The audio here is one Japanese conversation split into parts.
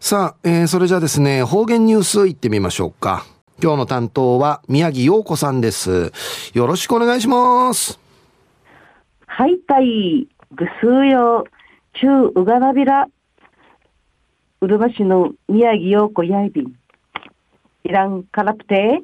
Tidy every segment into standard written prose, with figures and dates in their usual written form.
さあ、それじゃあですね、方言ニュースいってみましょうか。今日の担当は宮城陽子さんです。よろしくお願いします。 はいたい、ぐすうよ、ちゅううがなびら、うるま市の宮城陽子やいびん、イランカラプテ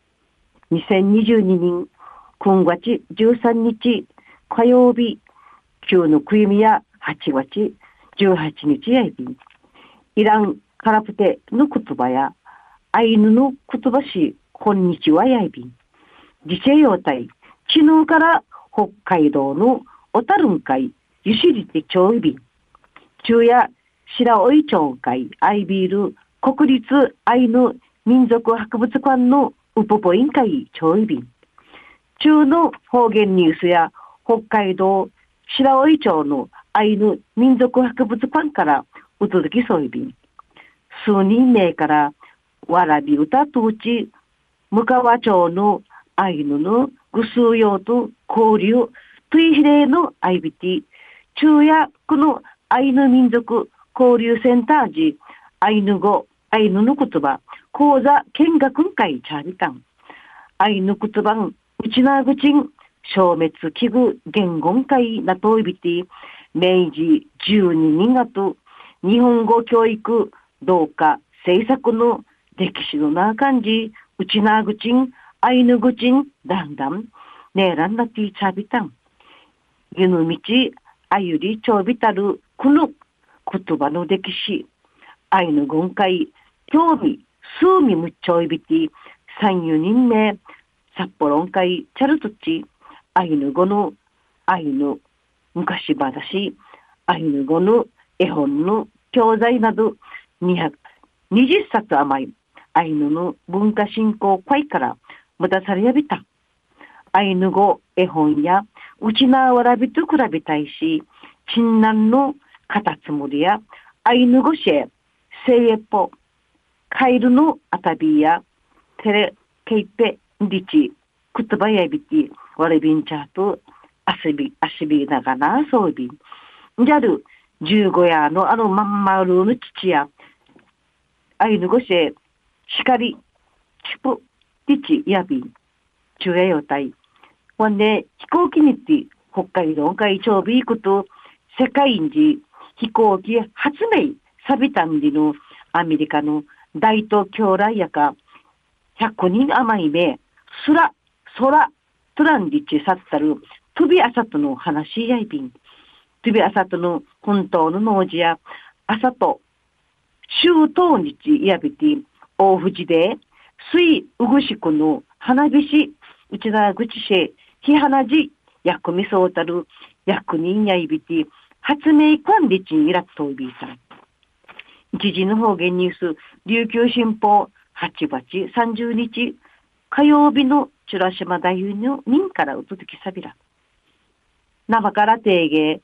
2022年9月13日火曜日、旧のくゆみや8月18日やいびん、イランカラプテの言葉やアイヌの言葉し、こんにちはやいびん、自治用体、昨日から北海道の小樽ん会、ゆしりて町いびん、中夜白老町会、アイビール、国立アイヌ民族博物館のウポポイン会、町いびん、中の方言ニュースや北海道白老町のアイヌ民族博物館からお届けそういびん、数人名からわらび歌とち、向川町のアイヌのぐすうようと交流、トゥイヒレのアイビティ、中夜このアイヌ民族交流センター時、アイヌ語、アイヌの言葉、講座見学会チャービタン、アイヌ言葉ん、うちなぐちん、消滅危惧言語会なといびて、明治12月、日本語教育同化政策の歴史のな感じ、うちなぐちん、アイヌぐちん、だんだん、ねえらんなてぃちゃびたん。ゆぬみち、あゆりちょうびたる、この言葉の歴史、アイヌ軍会、興味、数味むっちょいびて、三四人目、札幌ん会、チャルトチ、アイヌ語の、アイヌ、昔話、アイヌ語の絵本の教材など、220冊余り、アイヌの文化振興会からもたされやびた。アイヌ語絵本やうちなわらびと比べたいし、ちんなんのカタツムリやアイヌ語シェ、セイエポ、カエルのアタビやテレケイペリチ、クトバヤビティ、ワレビンチャーとアシビながなそうびん。ジャル、15夜のまんまるの父や、アイヌ語シェ、シカリ、チプ、ティチ、ヤビン、中夜予体。ほんで、飛行機に行って、北海道海長ビークと、世界一飛行機発明、サビタンディのアメリカの大東京来やか、100人余り目、空、トランディチサッタル、トビアサトの話やいびん。トビアサトの本当の農事や、朝と、週当日やびて、大藤で、水うぐしくの花火師、うちなぐちし、ひはなじ、薬味そうたる、薬人やいびて、発明管理地にいらっといびいさん。一時の方言ニュース、琉球新報、8月30日、火曜日のチュラシマ大夫の人からお届けさびら。生から定芸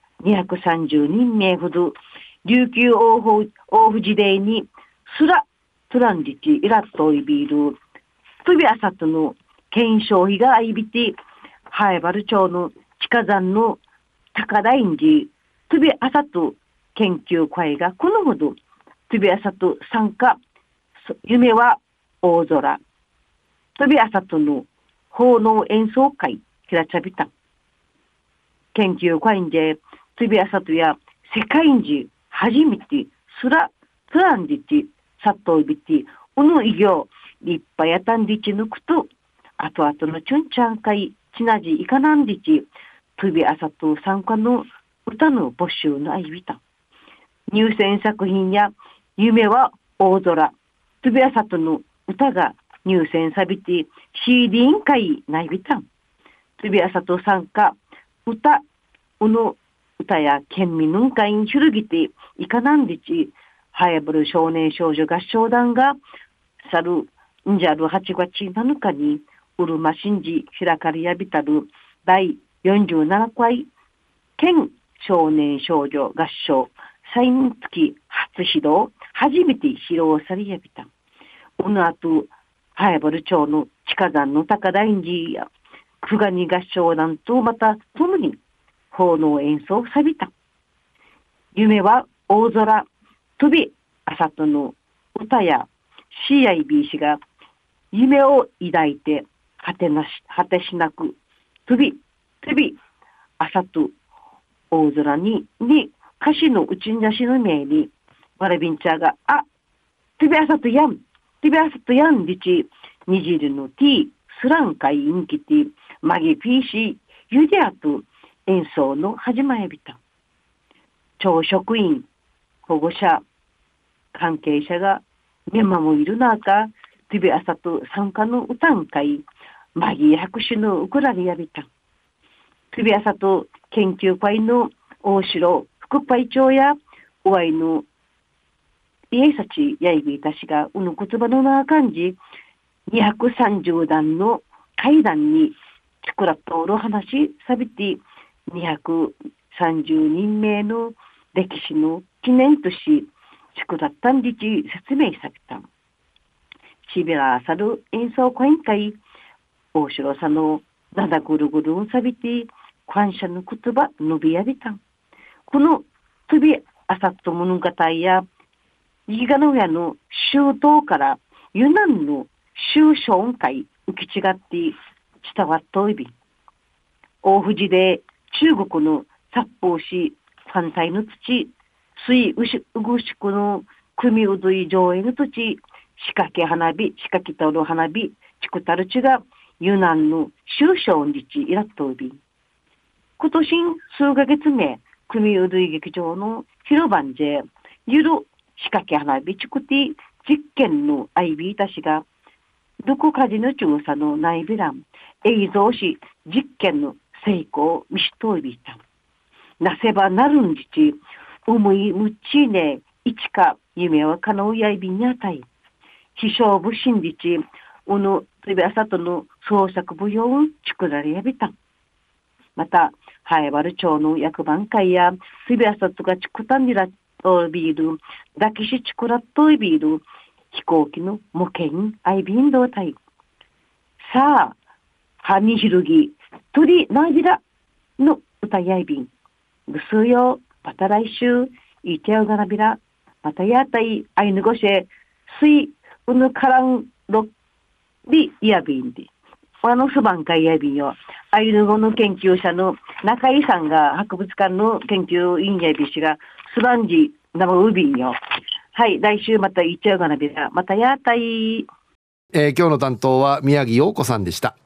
230人名ほど、琉球大藤デイに、すら、トランジチ、イラットイビール、トビアサトの検証費があいびて、ハエバル町の地下山の高台んじ、トビアサト研究会がこのほど、トビアサト参加、夢は大空、トビアサトの奉納演奏会、ひらちゃびた。研究会んで、トビアサトや世界んじ、初めて、すら、トランジチ、サットイビティ、うぬいぎょう、立派やたんでちぬくと、あとあとのちゅんちゃんかい、ちなじいかなんでち、トビアサト参加の歌の募集のあいびた。入選作品や、夢は大空、トビアサトの歌が入選さびて、CD 委員会ないびたん。トビアサト参加、歌、うの歌や県民の会に広げていかなんでち、ハヤブル少年少女合唱団が、去るんじゃる8月7日に、うるましんじ開かれやびたる第47回県少年少女合唱祭月初披露、初めて披露されやびた。この後、ハヤブル町の地下山の高台んじや、久我に合唱団とまた共に奉納演奏さびた。夢は大空、飛び朝との歌や CIB が夢を抱いて果てしなく飛び朝と大空に歌詞のうちんじゃしのめにわらびんちゃが飛び朝とやんりちにじるの T スランカインキティマギピーシユデアと演奏の始まりびた。教職員保護者関係者が見守る中飛び朝と参加の歌ん会マギー拍手のウクラリアビタン飛び朝と研究会の大城副会長やおわいの家さちやいびいたしがうぬ言葉のな感じ230段の階段にチクラとおる話さびて230人名の歴史の記念としチクラったんりち説明されたちびらさる演奏会会大城さんのだだぐるぐるんさびて感謝の言葉伸びやびたんこの飛びあさっと物語や伊賀の親の周到からユナンの周小会受け違って伝わっといび大藤で中国の殺法し反対の土水うぐしくの組うどい上映の土仕掛けたる花火ちくたるちがユナンの周小日いらっといび今年数ヶ月目組うどい劇場の広場でゆる仕掛け花火ちくて実験のアイビーたちがどこかじの調査の内ビラン映像し実験の成功を見しといびいたなせばなるんじち思いむっちねいちか夢はかなうやいびんにあたい非勝負真理ちおのとびあさとの創作舞踊を作られやびたまたハエバル町の役番会やとびあさとがちくたんにらとビールだきしちくらっといビール飛行機の模型アイビンドータイさあはにひるぎ鳥なびらの歌やいびんぐすよまた来週いてよがなびらまたやたいあいぬごせすいうぬからんろりやびんですばんかいやびんよアイヌ語の研究者の中井さんが博物館の研究員やびしがすばんじなまうびんよはい来週またいっちゃうがなびらまたやたい、 今日の担当は宮城陽子さんでした。